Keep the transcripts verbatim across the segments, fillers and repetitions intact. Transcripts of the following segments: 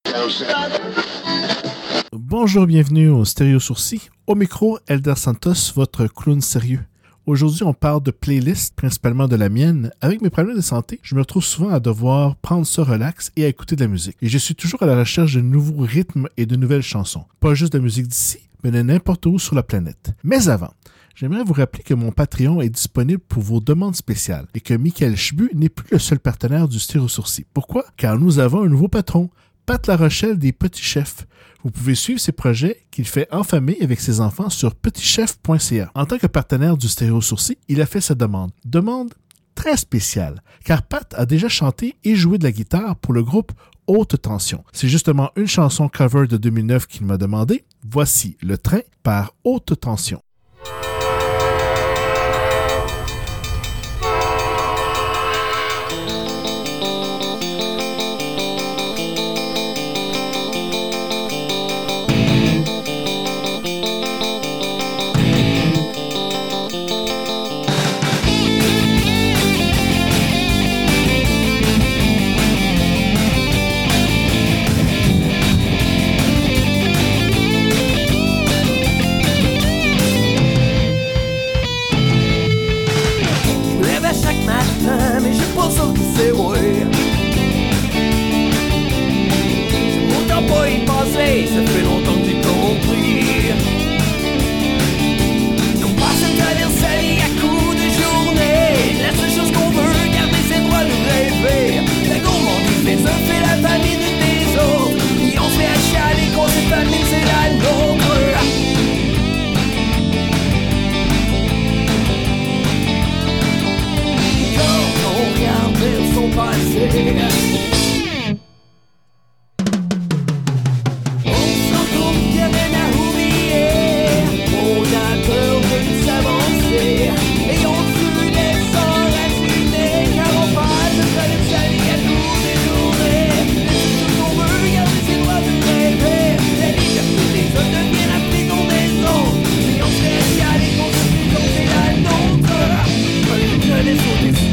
Bonjour, bienvenue au Stéréo Sourcil. Au micro, Elder Santos, votre clown sérieux. Aujourd'hui, on parle de playlists, principalement de la mienne. Avec mes problèmes de santé, je me retrouve souvent à devoir prendre ça relax et à écouter de la musique. Et je suis toujours à la recherche de nouveaux rythmes et de nouvelles chansons. Pas juste de la musique d'ici, mais de n'importe où sur la planète. Mais avant, j'aimerais vous rappeler que mon Patreon est disponible pour vos demandes spéciales et que Michael Chbu n'est plus le seul partenaire du Stéréo Sourcil. Pourquoi? Car nous avons un nouveau patron, Pat Larochelle des Petits Chefs. Vous pouvez suivre ses projets qu'il fait en famille avec ses enfants sur petit chef point c a. En tant que partenaire du Stéréo Sourcil, il a fait sa demande. Demande très spéciale, car Pat a déjà chanté et joué de la guitare pour le groupe Haute Tension. C'est justement une chanson cover de deux mille neuf qu'il m'a demandé. Voici Le Train par Haute Tension. Mais je pense que c'est vrai. J'ai pourtant pas y penser, ça fait longtemps que j'ai compris. Non pas se tenir sa vie à coups de journée. La seule chose qu'on veut, garder ses droits de rêver. La gourmandise des uns fait la famine des autres. Et on se fait à chialer quand cette famine c'est la nôtre. Vers son passé. On s'en trouve qu'il y a rien à oublier. On a peur de s'avancer. Et on se laisse enraciner. Car on passe de sa vie à tous les journées. Les choses qu'on veut, garder ses droits de rêver. La liberté des autres devient la prison des autres. Et on se laisse y aller qu'on se fait comme c'est la nôtre. Je laisse au dessus.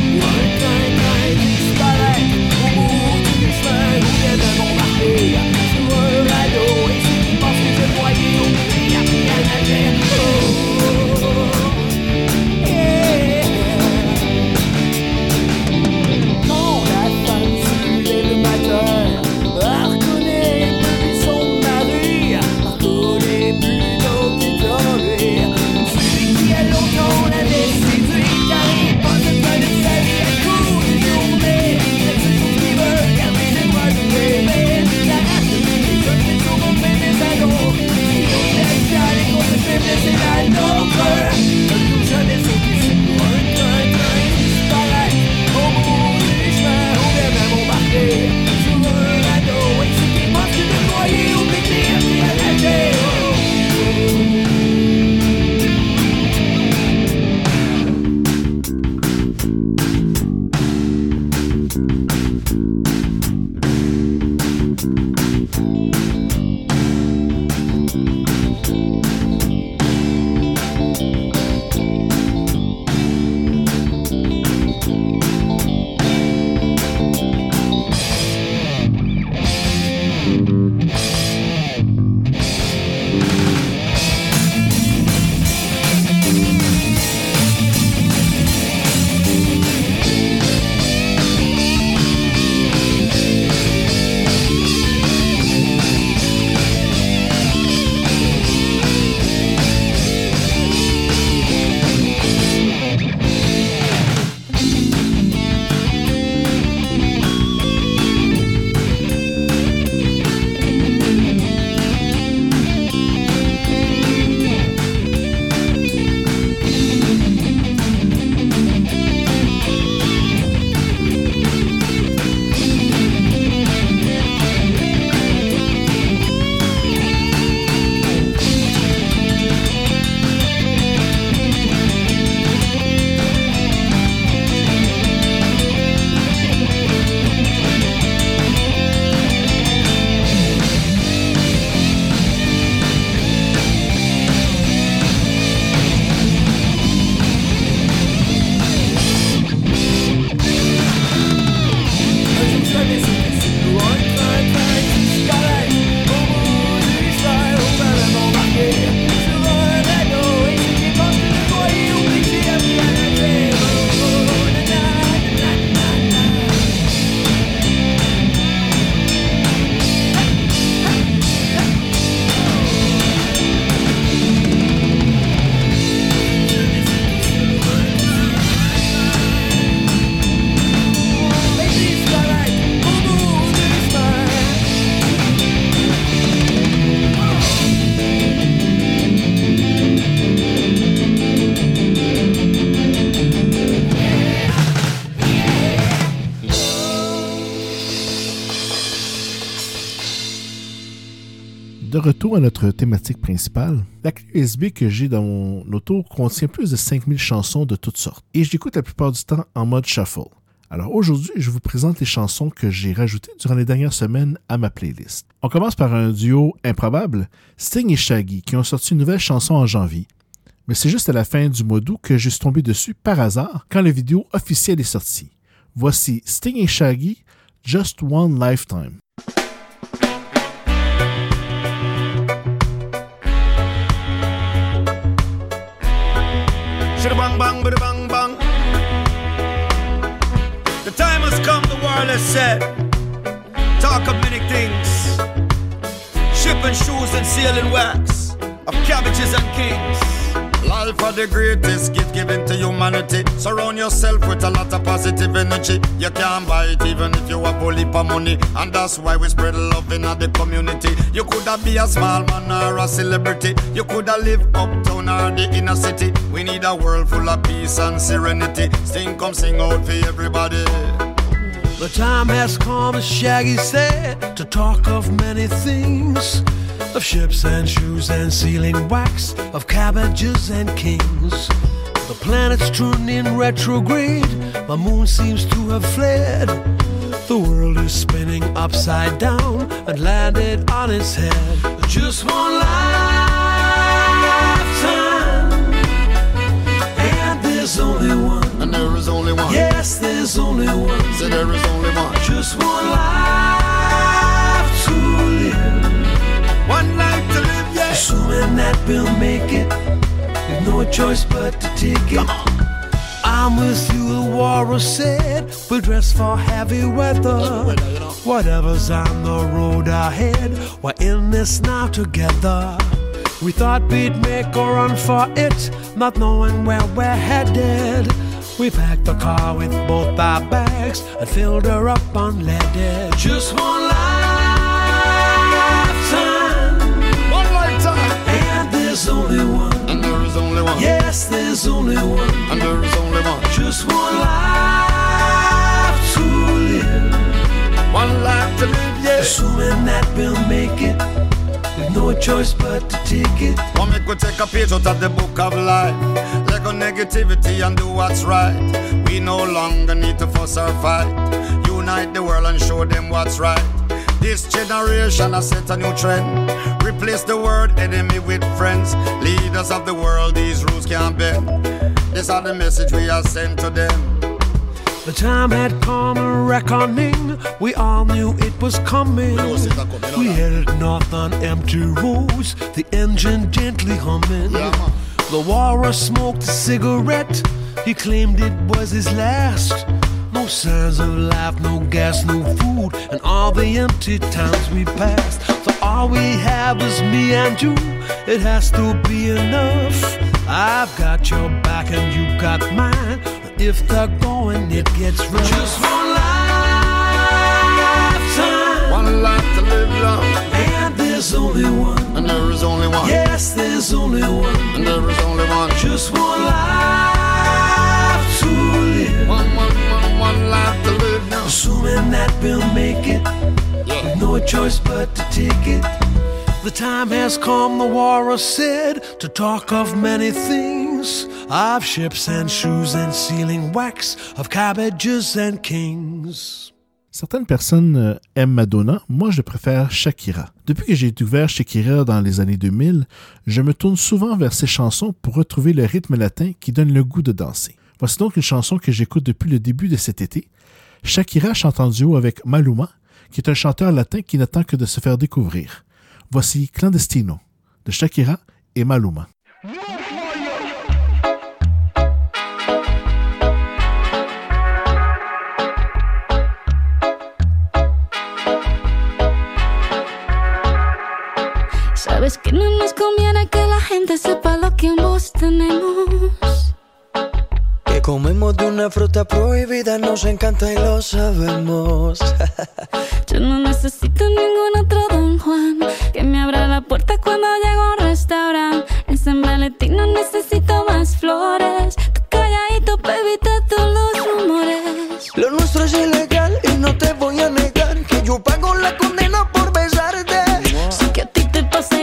de retour à notre thématique principale, la clé U S B que j'ai dans mon auto contient plus de cinq mille chansons de toutes sortes et je l'écoute la plupart du temps en mode shuffle. Alors aujourd'hui, je vous présente les chansons que j'ai rajoutées durant les dernières semaines à ma playlist. On commence par un duo improbable, Sting et Shaggy, qui ont sorti une nouvelle chanson en janvier. Mais c'est juste à la fin du mois d'août que je suis tombé dessus par hasard quand la vidéo officielle est sortie. Voici Sting et Shaggy, Just One Lifetime. Bang bang bada bang bang. The time has come, the world has said. Talk of many things. Shipping shoes and sealing wax of cabbages and kings. Life are the greatest gift given to humanity. Surround yourself with a lot of positive energy. You can't buy it even if you have a heap of money. And that's why we spread love in the community. You could have be a small man or a celebrity. You could have live uptown or the inner city. We need a world full of peace and serenity. Sing, come sing out for everybody. The time has come, as Shaggy said, to talk of many things. Of ships and shoes and sealing wax, of cabbages and kings. The planet's turned in retrograde, my moon seems to have fled. The world is spinning upside down and landed on its head. Just one lifetime, and there's only one. And there is only one. Yes, there's only one. So there is only one. Just one life to live. One life to live, yeah. Assuming that we'll make it, with no choice but to take it. I'm with you, the warrior said. We'll dress for heavy weather. Whatever's on the road ahead, we're in this now together. We thought we'd make a run for it, not knowing where we're headed. We packed the car with both our bags and filled her up unleaded. Just one life. There's only one. And there is only one. Yes, there's only one. And there is only one. Just one life to live. One life to live, yeah. Assuming that we'll make it, with no choice but to take it. One make we take a page out of the book of life. Let go negativity and do what's right. We no longer need to fuss or fight. Unite the world and show them what's right. This generation has set a new trend. Replace the word enemy with friends. Leaders of the world, these rules can't bend. These are the message we are sent to them. The time had come, a reckoning. We all knew it was coming. We headed north on empty roads, the engine gently humming. The warrior smoked a cigarette. He claimed it was his last. No signs of life, no gas, no food, and all the empty towns we passed. So all we have is me and you. It has to be enough. I've got your back and you got mine. But if they're going, it gets rough. Just one lifetime. One life to live long. And there's only one. And there is only one. Yes, there's only one. And there is only one. Just one life to live. One, one, one, one life to live now. Assuming that we'll make it, yeah. With no choice but to take it. The time has come, the warrior said, to talk of many things. Of ships and shoes and sealing wax, of cabbages and kings. Certaines personnes euh, aiment Madonna, moi je préfère Shakira. Depuis que j'ai découvert Shakira dans les années deux mille, je me tourne souvent vers ses chansons pour retrouver le rythme latin qui donne le goût de danser. Voici donc une chanson que j'écoute depuis le début de cet été. Shakira chante en duo avec Maluma, qui est un chanteur latin qui n'attend que de se faire découvrir. Voici Clandestino, de Shakira et Maluma. Sabes que no nos conviene que la gente sepa lo que ambos tenemos. Que comemos de una fruta prohibida, nos encanta y lo sabemos. Yo no necesito ningún otro Don Juan que me abra la puerta cuando llego a un restaurante. En San Valentín no necesito más flores. Tú calladito, baby, todos los rumores. Lo nuestro es ilegal y no te voy a negar que yo pago la condena por besarte. Sé que a ti te pasa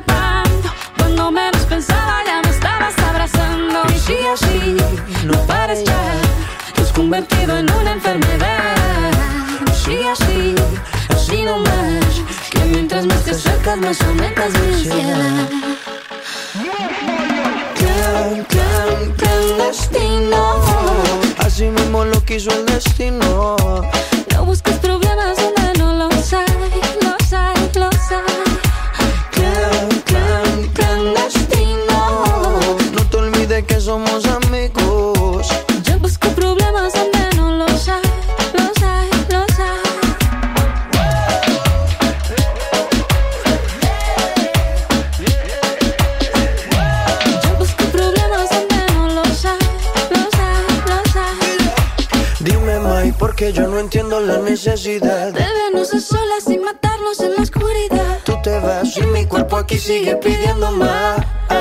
escapando. Cuando menos pensaba ya me estabas abrazando. Y sí, así, no pares ya. Te has convertido en una enfermedad. Sí, así, así nomás. Que mientras más te acercas más aumentas mi ansiedad. Clan, clan, clandestino. Así mismo lo quiso el destino. No busques problemas donde no los hay, los hay, los hay. Clan, clan, clandestino. No te olvides que somos amigos. Yo busco problemas donde no los hay, los hay, los hay. Yo busco problemas donde no los hay, los hay, los hay. Dime, Mai, porque yo no entiendo la necesidad De vernos a solas y matarnos en la oscuridad. Tú te vas y mi cuerpo aquí sigue pidiendo más.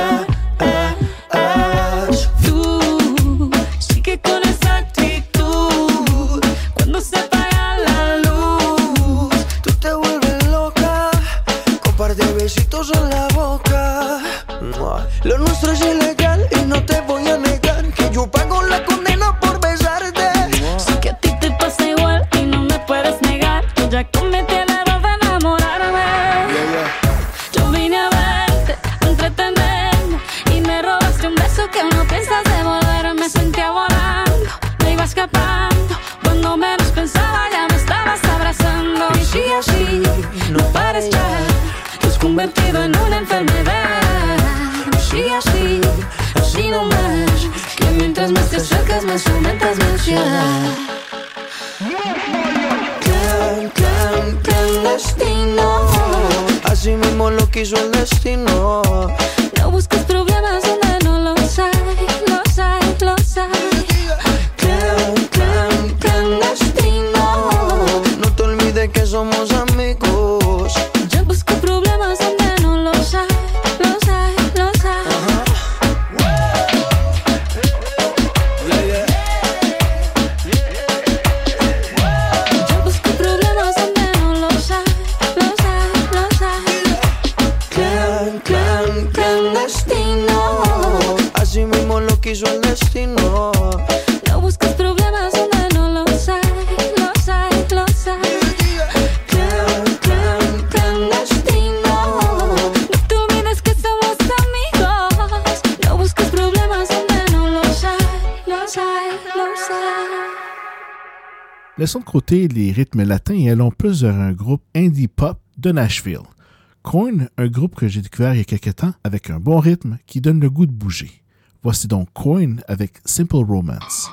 Tú sigue con esa actitud. Cuando se apaga la luz, Tú te vuelves loca con par de besitos en la boca. Lo nuestro es ilegal y no te voy a negar que yo pago la condena por besarte. sé que a ti te pasa igual y no me puedes negar. Yo ya cometí el error de enamorarme. Yo vine a verte, a entretenerme, y me robaste un beso que no piensas devolver. Me sentía volando, me iba escapando. Cuando menos pensaba ya me estabas abrazando. Y sí, así, no pares ya. Te has convertido en una enfermedad. Sí, así, así nomás. Que mientras más te acercas más aumentas mi ansiedad. Clan, clan, clandestino. Así mismo lo quiso el destino. No busques problemas donde no los hay, los hay, los hay. Clan, clan, clandestino. No te olvides que somos amigos. Yo busco problemas donde no los hay, los hay, los hay. Yo busco problemas donde no los hay, los hay, los hay. Clan, clan, clandestino. Así mismo lo quiso el destino. No busques problemas donde no los hay, los hay, los hay. Clan, clan, clandestino. No te olvides que somos amigos. No busques problemas donde no los hay, los hay, los hay. Laissons de côté les rythmes latins et allons plus vers un groupe indie pop de Nashville. Korn, un groupe que j'ai découvert il y a quelques temps avec un bon rythme qui donne le goût de bouger. Voici donc Korn avec Simple Romance.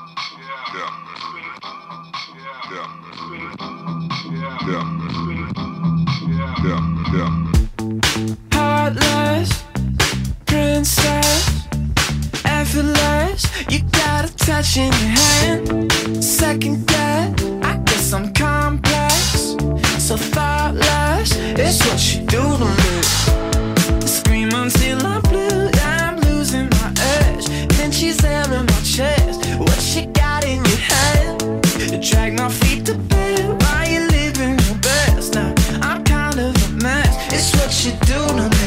Heartless, princess, effortless. You got a touch in your hand. Second guess, I guess I'm complex. So thoughtless, it's what you do to me. Scream until I'm blue, I'm losing my edge. Then she's hammering my chest. What you got in your hand? Drag my feet to bed while you living your best. Now I'm kind of a mess. It's what you do to me.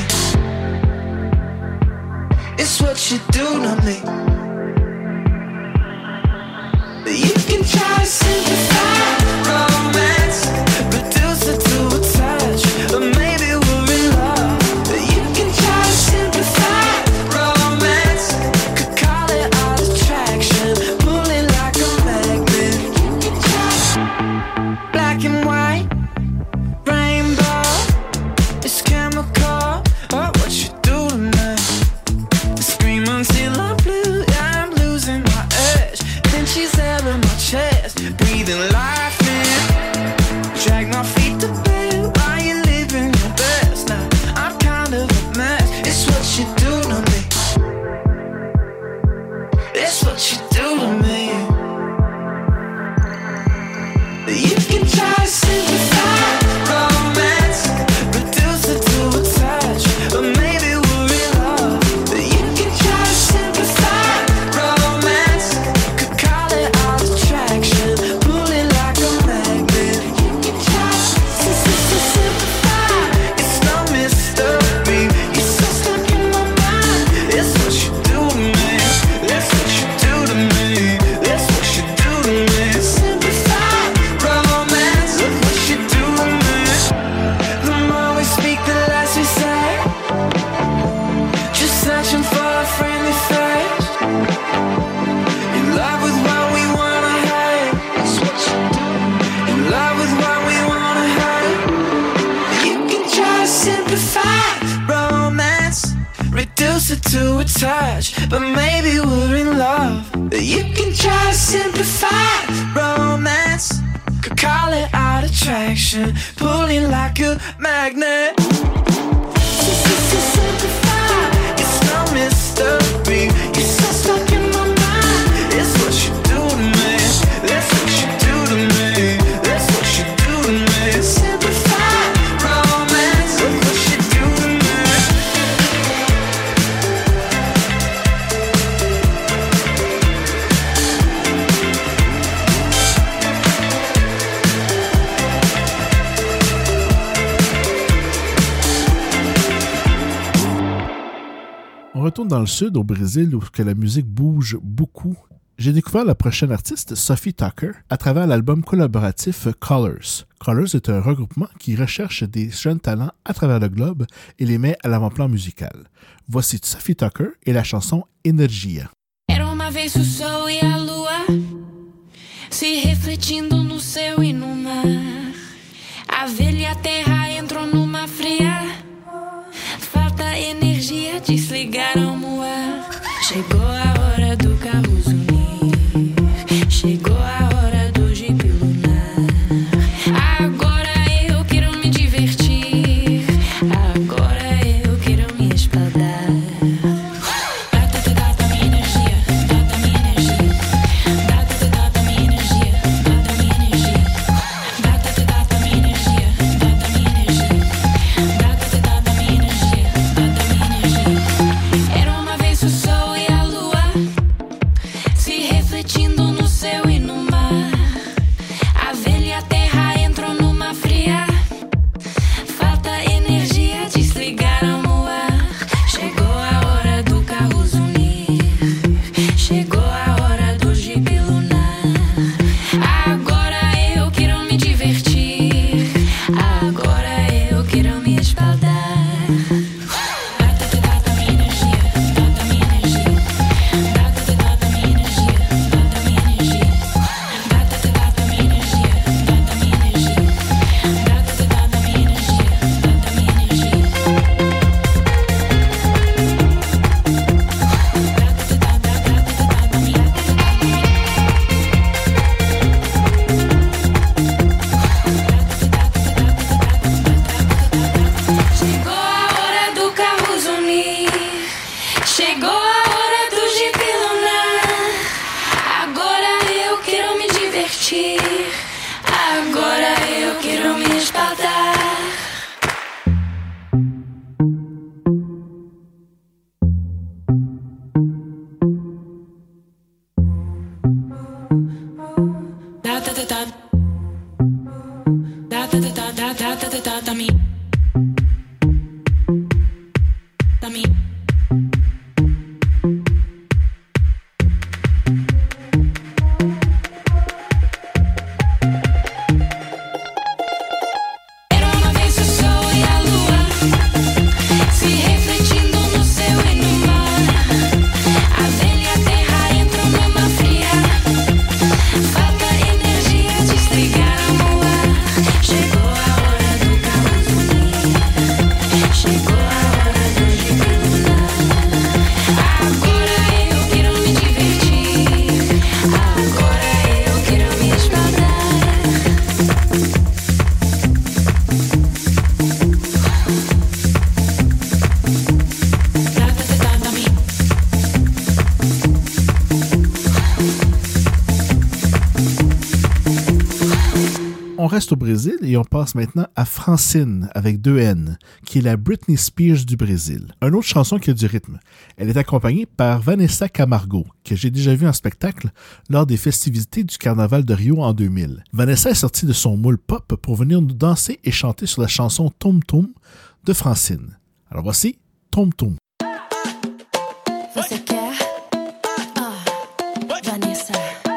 It's what you do to me. You can try to simplify romance, reduce it to a touch, or maybe we're in love. You can try to simplify romance, could call it all attraction, pull it like a magnet. You can try black and white, rainbow, it's chemical. Oh, what you do to me? Scream until closer to a touch, but maybe we're in love. You can try to simplify romance, could call it out attraction, pulling like a magnet. Simplify, it's no mystery. You're so stuck in my mind. It's what you do to me. That's what you do to me. That's what you do to me. Simplify romance. Look what you do to me. On retourne dans le sud, au Brésil, où que la musique bouge beaucoup. J'ai découvert la prochaine artiste, Sophie Tucker, à travers l'album collaboratif Colors. Colors est un regroupement qui recherche des jeunes talents à travers le globe et les met à l'avant-plan musical. Voici Sophie Tucker et la chanson Energia. Era uma vez o sol e a lua se refletindo no céu e no mar. A velha terra entrou numa fria. Falta energia, desligaram o ar. Chegou a hora do carro zunir. Chegou a hora do jipe lunar. Agora eu quero me divertir. Agora eu quero me espaldar. Dá, dá, dá, minha energia. Dá, minha energia. Dá, dá, dá, minha energia. Dá, minha energia. Dá, dá, minha energia. Dá, minha energia. Dá, dá, minha energia. Dá, minha energia. Era uma vez o sol e a lua se refletindo no céu e no mar. A velha terra entrou numa fria. Falta energia, desligaram o ar. Chegou a hora do carro zunir. Chegou a hora do jipe lunar. Agora eu quero me divertir. Agora eu quero me espaldar. Dá, dá, dá, minha energia. Dá, minha energia. Dá, dá, dá, minha energia. Dá, minha energia. Dá, dá, dá, minha energia. Dá, minha energia. Dá, dá, dá, minha energia. Dá, minha energia. Chegou a hora do carro zunir. Chegou a hora do jipe lunar. Agora eu quero me divertir. Agora eu quero me espaldar. Da da da da. Da da da da da da da da da da me. Da me. Era uma vez o sol e a lua se refletindo no céu e no mar. A velha terra entrou numa fria. Falta energia, desligaram o ar. Chegou a hora do carro zunir. Chegou a hora do jipe lunar. Agora eu quero me divertir. Agora eu quero me espaldar. Da, da, da, da, me. On reste au Brésil et on passe maintenant à Francine avec deux N, qui est la Britney Spears du Brésil. Une autre chanson qui a du rythme. Elle est accompagnée par Vanessa Camargo, que j'ai déjà vu en spectacle lors des festivités du Carnaval de Rio en deux mille. Vanessa est sortie de son moule pop pour venir nous danser et chanter sur la chanson Tom Tom de Francine. Alors voici Tom Tom. Você quer? Ah, Vanessa.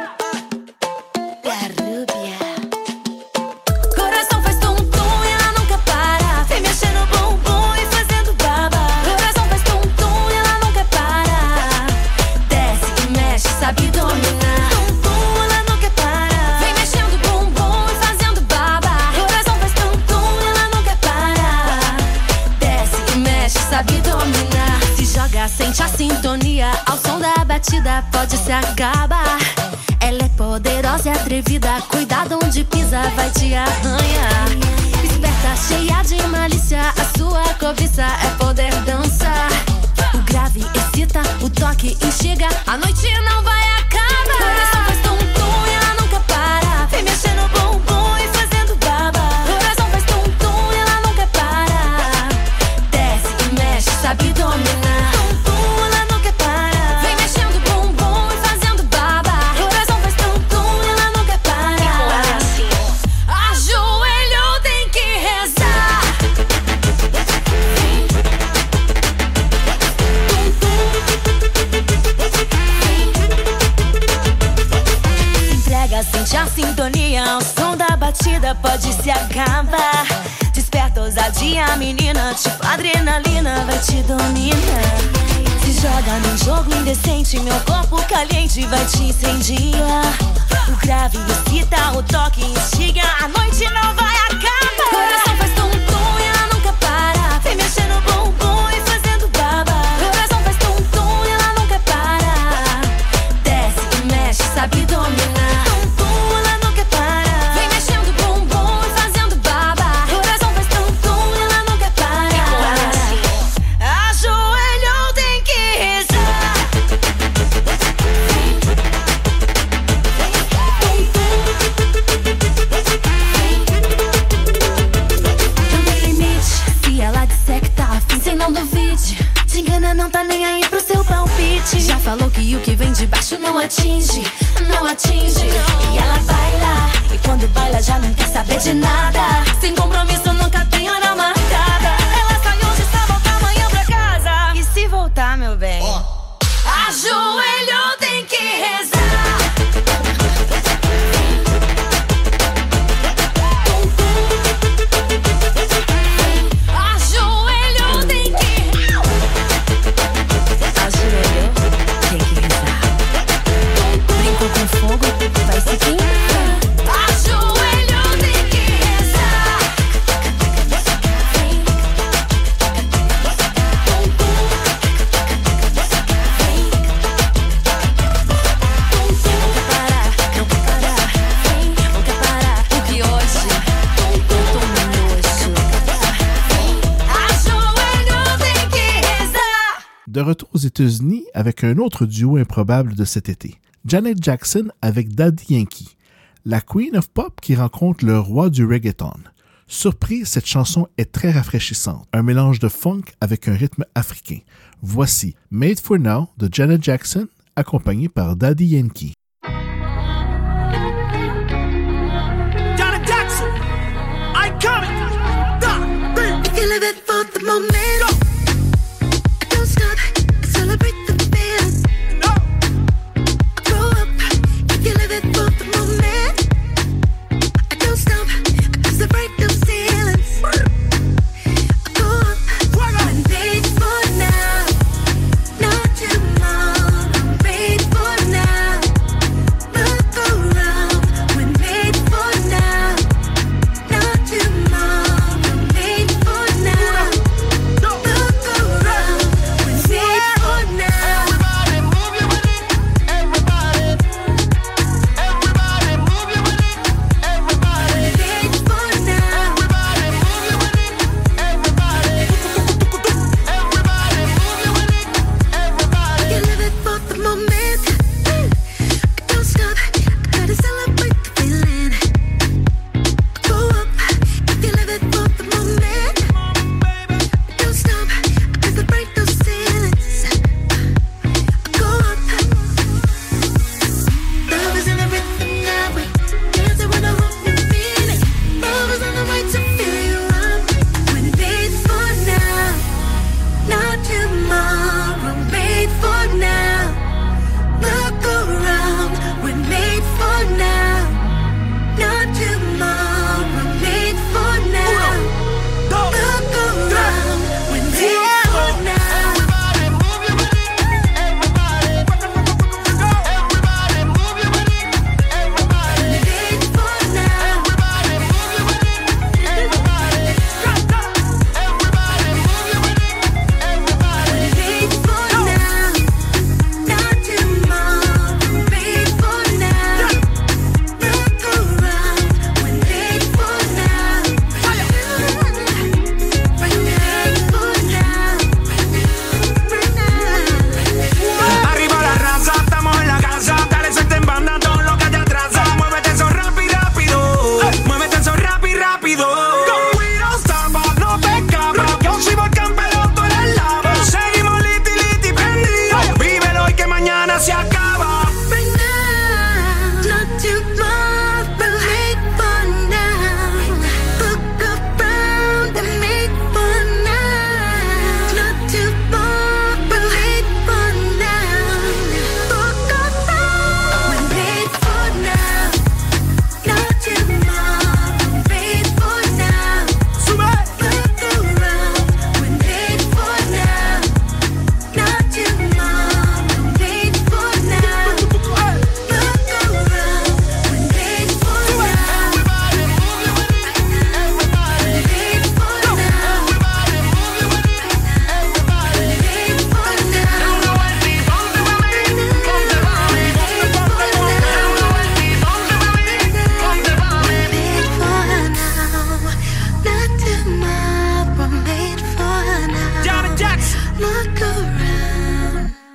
É Rúbia. Coração faz tum-tum e ela nunca para. Vem mexendo o bumbum e fazendo baba. Coração faz tum-tum e ela nunca para. Desce e mexe, sabe dominar. Tum-tum, ela nunca para. Vem mexendo o bumbum e fazendo baba. Coração faz tum-tum e ela nunca para. Desce e mexe, sabe dominar. Se joga Entrega, sente a sintonia, ao som da batida pode se acabar. Ela é poderosa e atrevida, cuidado onde pisa, vai te arranhar. Esperta, cheia de malícia, a sua cobiça é poder dançar. O grave excita, o toque instiga, a noite não vai acabar. Coração faz tum-tum e ela nunca para, vem mexendo o bumbum e fazendo baba. Coração faz tum-tum e ela nunca para, desce e mexe, sabe dominar. Tum-tum, ela nunca para, vem mexendo o bumbum e fazendo baba. Coração faz tum-tum e ela nunca para, ajoelhou, tem que rezar. Entrega, sente a sintonia, o som da batida pode se acabar. Desperta ousadia, menina, tipo adrenalina vai te dominar. Se joga num jogo indecente, meu corpo caliente vai te incendiar. O grave excita, o toque instiga, a noite não vai acabar. Coração faz tum-tum e ela nunca para, vem mexendo o bumbum e fazendo baba. Coração faz tum-tum e ela nunca para, desce e mexe, sabe dominar. Tum-tum, ela nunca para, vem mexendo o bumbum e fazendo baba. Coração faz tum-tum e ela nunca para, ajoelhou, tem que rezar. Não tem limite, se ela disser que tá afim, cê não duvide. Te engana, não tá nem aí pro seu palpite. Já falou que o que vem de baixo não atinge, não atinge. E ela baila, e quando baila já não quer saber de nada. Sem compromisso, nunca tem hora marcada. Ela sai hoje, só volta amanhã pra casa. E se voltar, meu bem, ajoelhou, tem que rezar. Ajoelhou, tem que Ajoelhou, tem que rezar. Brincou com fogo, vai se queimar. Ajoelhou, tem que rezar. Nunca parar, nunca parar, nunca parar. Porque hoje eu tô no nojo. Ajoelhou, tem que rezar. De retour aux États-Unis avec un autre duo improbable de cet été. Janet Jackson avec Daddy Yankee, la Queen of Pop qui rencontre le roi du reggaeton. Surprise, cette chanson est très rafraîchissante, un mélange de funk avec un rythme africain. Voici Made for Now de Janet Jackson, accompagnée par Daddy Yankee. Janet Jackson, I coming. If you live it for the moment, don't stop, celebrate the feeling. Grow up, if you live it for the moment, don't stop, celebrate the ceilings. Go up, I'm made for now, not tomorrow. I'm made for now.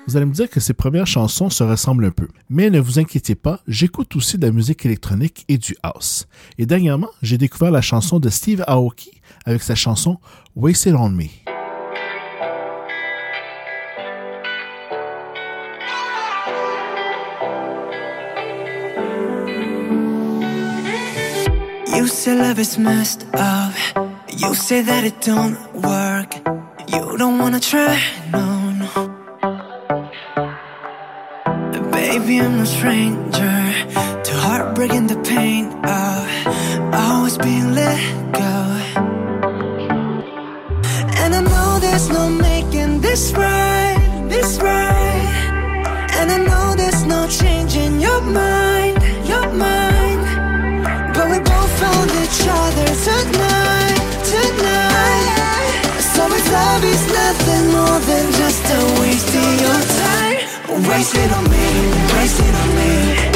Vous allez me dire que ces premières chansons se ressemblent un peu. Mais ne vous inquiétez pas, j'écoute aussi de la musique électronique et du house. Et dernièrement, j'ai découvert la chanson de Steve Aoki avec sa chanson Wasted on Me. You say love is messed up. You say that it don't work. You don't wanna try, no, no. Baby, I'm no stranger to heartbreak and the pain of always being let go. And I know there's no making this right, this right. And I know there's no changing your mind, your mind. But we both found each other tonight, tonight. So it's obvious nothing more than just a waste of your time. Wasted on me, wasted on me.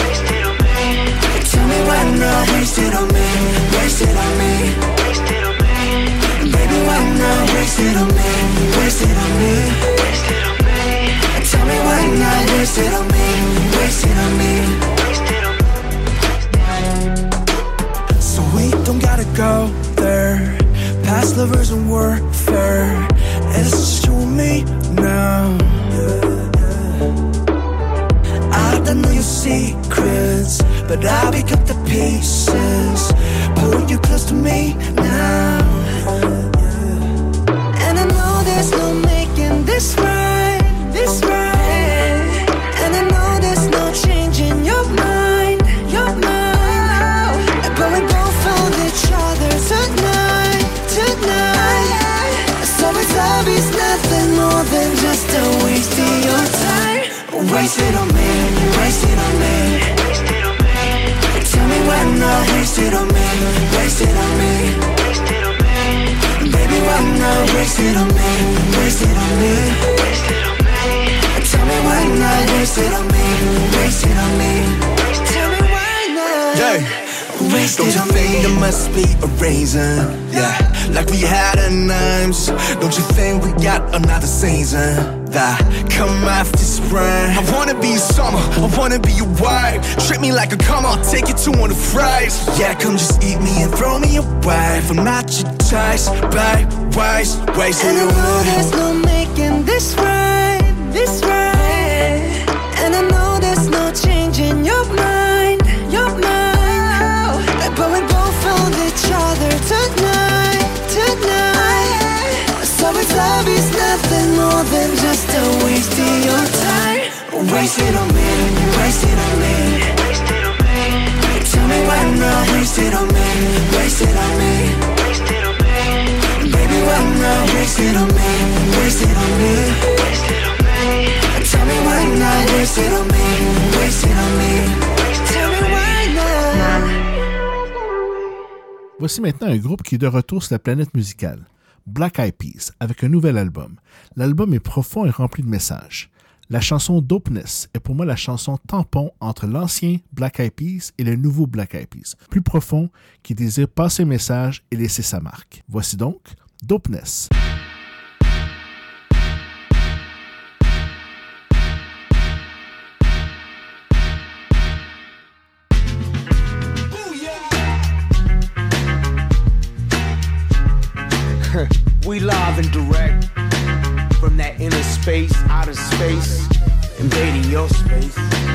Tell me why not, wasted on me, wasted on me. Baby, why not, wasted on me, wasted on me. Tell me why not, wasted on me, wasted on me. We don't gotta go there. Past lovers and warfare. It's just you and me now. I don't know your secrets, but I pick up the pieces, pulling you close to me now. And I know there's no making this right, this right. And I know there's no changing your mind, your mind. But we both found each other tonight, tonight. So it's obvious nothing more than just a waste of your time. Wasted on me, wasted on me. Tell me why not, wasted on me, wasted on me. Baby, why not, wasted on me, wasted on me. Tell me why not, wasted on me, wasted on me. Tell me why not. Yeah. Wasted Don't you think there must be a reason? Yeah, like we had a names. Don't you think we got another season that come after spring? I wanna be your summer, I wanna be your wife. Treat me like a come, I'll take you to one of the fries. Yeah, come just eat me and throw me away. I'm not your choice, babe, waste, wasted And I on know me. there's no making this right, this right. And I know there's no changing your mind, your mind. But we both found each other tonight, tonight. So it's obvious nothing more than just a waste of your time. Wasted on me, wasted on me. Tell me why not, wasted on me, wasted on me. Baby, why not, wasted on me, wasted on me. Tell me why not, wasted on me, wasted on me. Tell me why not. Voici maintenant un groupe qui est de retour sur la planète musicale, Black Eyed Peas, avec un nouvel album. L'album est profond et rempli de messages. La chanson Dopeness est pour moi la chanson tampon entre l'ancien Black Eyed Peas et le nouveau Black Eyed Peas, plus profond, qui désire passer un message et laisser sa marque. Voici donc Dopeness. We live and direct from that inner space, outer space, invading your space.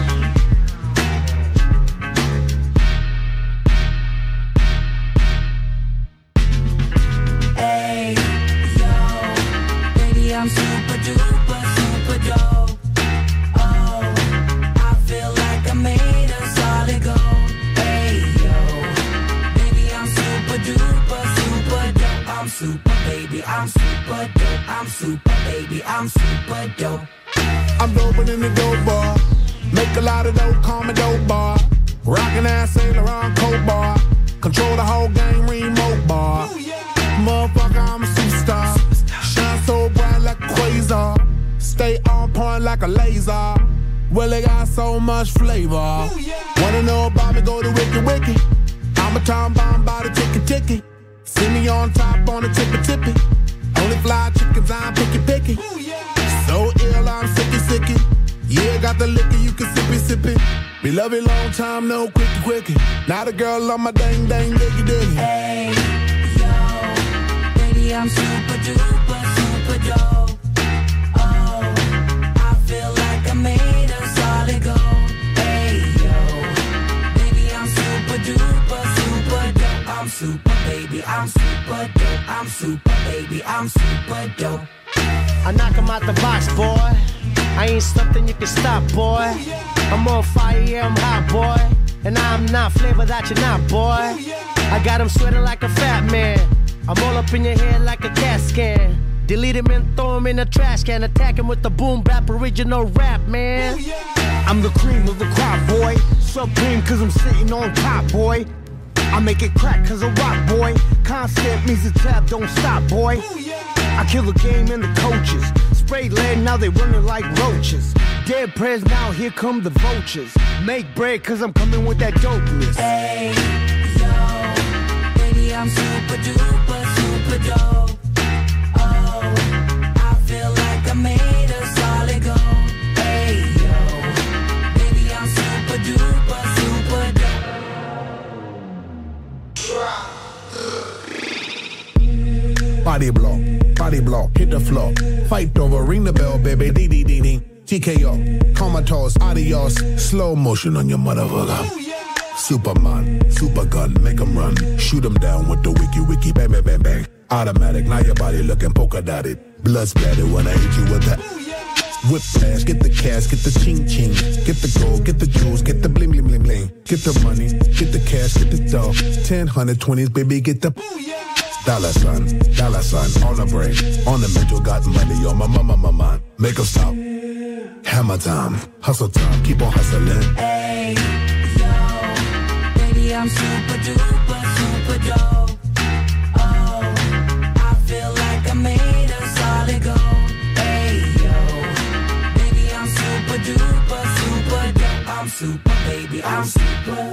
Hey, yo, baby, I'm super duper, super dope. Oh, I feel like I made a solid gold. Hey, yo, baby, I'm super duper, super dope. I'm super, baby, I'm super dope. I'm super, baby, I'm super dope. I'm doping in the dope bar. Make a lot of dope, call me dope bar. Rockin' ass Saint Laurent coat bar. Control the whole game, remote bar. Motherfucker, I'm a superstar. Shine so bright like a quasar. Stay on point like a laser. Well, it got so much flavor. Wanna know about me, go to Wiki Wiki. I'm a time bomb by the ticky ticky. See me on top on the tippy tippy. Only fly chickens, I'm picky picky. So ill, I'm sicky sicky. sticky. Yeah, got the liquor, you can sip it, sip it. We love it long time, no quickie, quickie. Now the girl on my dang, dang, diggy, diggy. Hey, yo, baby, I'm super duper, super dope. Oh, I feel like I made a solid gold. Hey, yo, baby, I'm super duper, super dope. I'm super, baby, I'm super dope. I'm super, baby, I'm super dope. I knock him out the box, boy. I ain't something you can stop, boy. I'm on fire, yeah, I'm hot, boy. And I'm not flavor that you're not, boy. I got him sweating like a fat man. I'm all up in your head like a cat scan. Delete him and throw him in a trash can. Attack him with the boom bap original rap, man. I'm the cream of the crop, boy. Supreme cause I'm sitting on top, boy. I make it crack cause I rock, boy. Constant means the tab don't stop, boy. I kill the game and the coaches. Spray lead, now they running like roaches. Dead prayers, now here come the vultures. Make bread cause I'm coming with that dopeness. Hey, yo, baby, I'm super duper, super dope. Oh, I feel like I made a solid gold. Hey, yo, baby, I'm super duper, super dope. Body blow, body blow, hit the floor. Fight over, ring the bell, baby, dee dee dee dee. T K O, comatose, adios. Slow motion on your motherfucker. Superman, super gun, make 'em run. Shoot 'em down with the wiki wiki, bang bang bang bang. Automatic, now your body looking polka dotted. Blood splattered when I hit you with that. Whip flash, get the cash, get the ching ching. Get the gold, get the jewels, get the bling bling bling bling. Get the money, get the cash, get the dough. Ten, hundred, twenties, baby, get the dollar sign, dollar sign on the brain, on the mental, got money on my mama, my mind. Make 'em stop. Hammer time, hustle time, keep on hustling. Hey, yo, baby, I'm super duper, super dope. Oh, I feel like I made a solid gold. Hey, yo, baby, I'm super duper, super dope. I'm super, baby, I'm super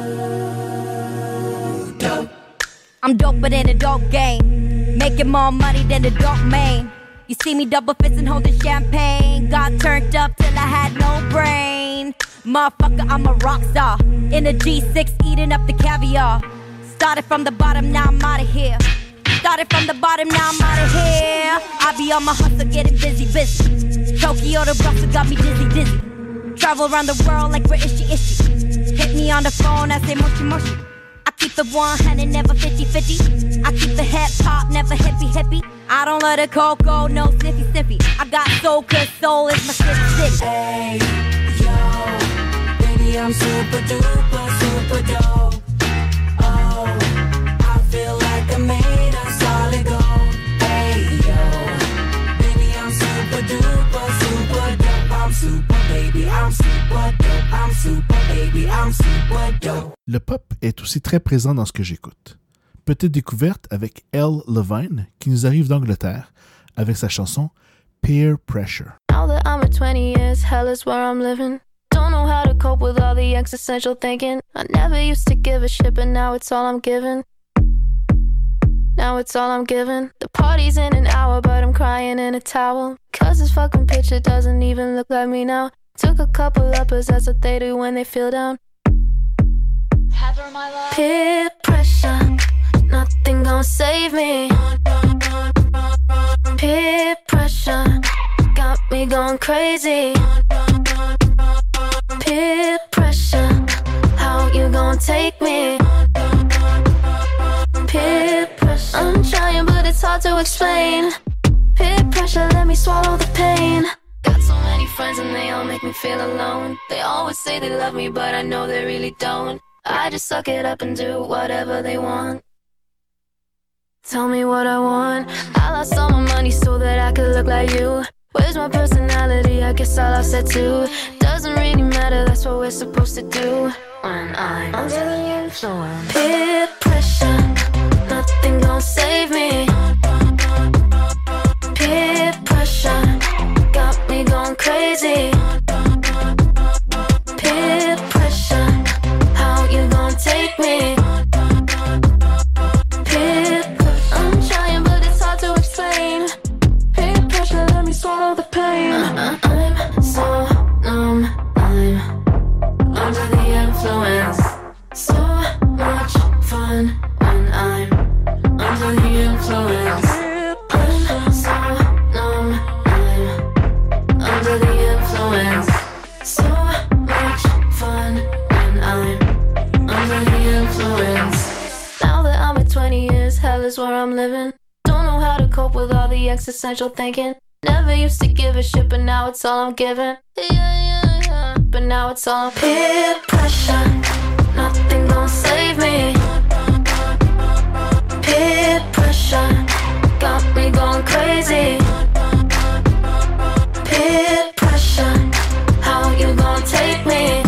dope. I'm doper than a dope game, making more money than the dope main. You see me double fisting, holding champagne. Got turned up till I had no brain. Motherfucker, I'm a rock star. In a G six, eating up the caviar. Started from the bottom, now I'm outta here. Started from the bottom, now I'm outta here. I be on my hustle, getting busy, busy. Tokyo to Brussels got me dizzy, dizzy. Travel around the world like British ishi. Hit me on the phone, I say moshi moshi. I keep the one hundred, never fifty fifty. I keep the hip hop, never hippie hippie. I don't let the cocoa, no sniffy sniffy. I got soul, cause soul is my city city. Hey, yo, baby, I'm super duper, super dope. Oh, I feel like I made a solid gold. Hey, yo, baby, I'm super duper, super dope. I'm super, baby, I'm super dope. I'm super, baby, I'm super dope. Le pop est aussi très présent dans ce que j'écoute. Petite découverte avec Elle Levine qui nous arrive d'Angleterre avec sa chanson Peer Pressure. Now that I'm at twenty years, hell is where I'm living. Don't know how to cope with all the existential thinking. I never used to give a shit, but now it's all I'm giving. Now it's all I'm giving. The party's in an hour, but I'm crying in a towel. Cause this fucking picture doesn't even look like me now. Took a couple uppers, that's what they do when they feel down. Peer pressure, nothing gon' save me. Peer pressure got me going crazy. Peer pressure, how you gon' take me? Peer pressure, I'm trying but it's hard to explain. Peer pressure, let me swallow the pain. Got so many friends and they all make me feel alone. They always say they love me but I know they really don't. I just suck it up and do whatever they want. Tell me what I want. I lost all my money so that I could look like you. Where's my personality? I guess I lost that too. Doesn't really matter, that's what we're supposed to do. When I'm under the influence. Peer pressure, nothing gon' save me. Peer pressure got me going crazy. Peer pressure, how you gon' take me? Peer pressure, I'm trying but it's hard to explain. Peer pressure, let me swallow the pain. uh, I'm is where I'm living. Don't know how to cope with all the existential thinking. Never used to give a shit, but now it's all I'm giving. Yeah, yeah, yeah. But now it's all peer pressure. Nothing gon' save me. Peer pressure got me going crazy. Peer pressure, how you gon' take me?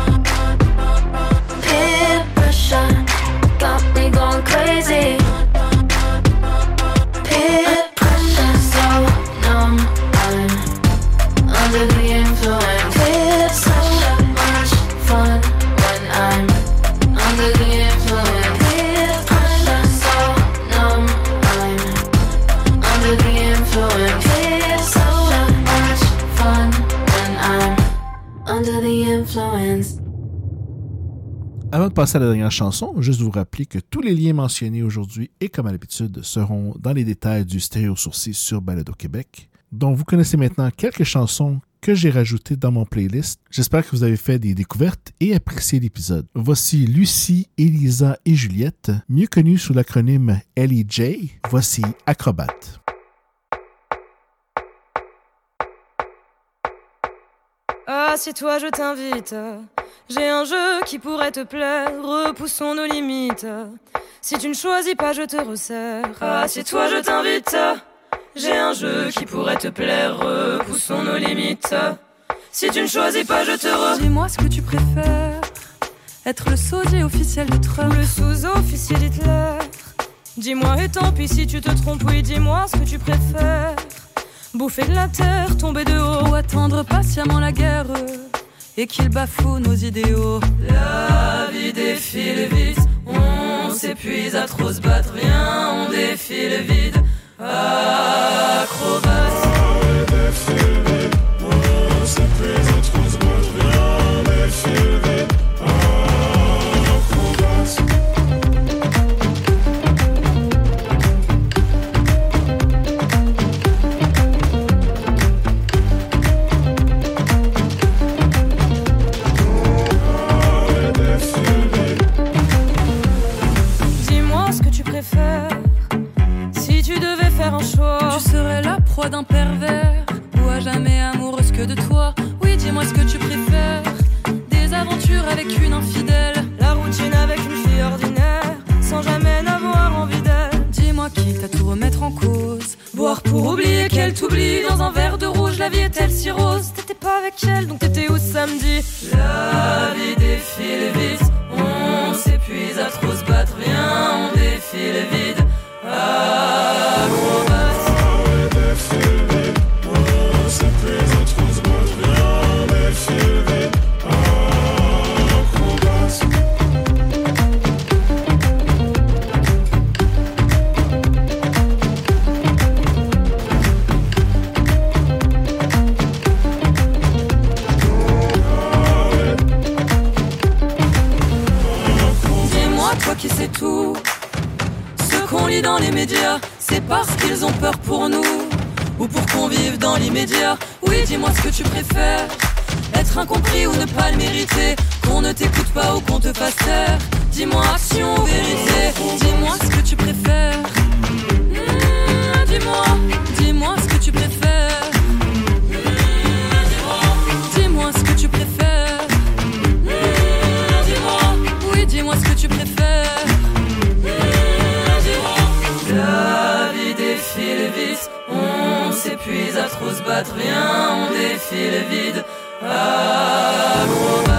Peer pressure got me going crazy. Peer pressure, so numb, I'm under the influence. Peer pressure, much fun when I'm under the influence. Peer pressure, so numb, I'm under the influence. Peer pressure, much fun when I'm under the influence. Avant de passer à la dernière chanson, juste vous rappeler que tous les liens mentionnés aujourd'hui et comme à l'habitude seront dans les détails du Stéréo Sourcil sur Balado Québec, dont vous connaissez maintenant quelques chansons que j'ai rajoutées dans mon playlist. J'espère que vous avez fait des découvertes et apprécié l'épisode. Voici Lucie, Elisa et Juliette, mieux connues sous l'acronyme L E J. Voici Acrobate. Ah, si toi je t'invite, j'ai un jeu qui pourrait te plaire, repoussons nos limites. Si tu ne choisis pas, je te resserre. Ah, si toi je t'invite, j'ai un jeu qui pourrait te plaire, repoussons nos limites. Si tu ne choisis pas, je te re... Dis-moi ce que tu préfères, être le sosie officiel de Trump ou le sous-officier d'Hitler. Dis-moi et tant pis si tu te trompes, oui, dis-moi ce que tu préfères. Bouffer de la terre, tomber de haut, ou attendre patiemment la guerre et qu'il bafoue nos idéaux. La vie défile vite, on s'épuise à trop se battre. Viens, on défile vite, acrobate. La vie défile vite, on s'épuise à trop se battre. Viens, on défile vite, acrobate. Si tu devais faire un choix, tu serais la proie d'un pervers ou à jamais amoureuse que de toi. Oui, dis-moi ce que tu préfères, des aventures avec une infidèle, la routine avec une fille ordinaire, sans jamais n'avoir envie d'elle. Dis-moi quitte à tout remettre en cause, boire pour oublier qu'elle t'oublie. Dans un verre de rouge, la vie est-elle si rose? T'étais pas avec elle, donc t'étais où samedi? La vie défile vite, on s'épuise à trop se battre. Viens, on défile vite, acrobate. La vie défile vite, on s'épuise à trop se battre. Viens, on défile vite, acrobate. Dis-moi, toi qui sais tout, ce qu'on lit dans les médias, c'est parce qu'ils ont peur pour nous ou pour qu'on vive dans l'immédiat. Oui, dis-moi ce que tu préfères, être incompris ou ne pas le mériter, qu'on ne t'écoute pas ou qu'on te fasse taire. Dis-moi action ou vérité, dis-moi ce que tu préfères. Mmh, dis-moi, dis-moi ce que tu préfères. Mmh, dis-moi, dis-moi ce que tu préfères. Mmh, dis-moi, oui, dis-moi ce que tu préfères. Mmh, dis-moi. La vie défile vite, on s'épuise à trop se battre. Viens, on défile vide, acrobate.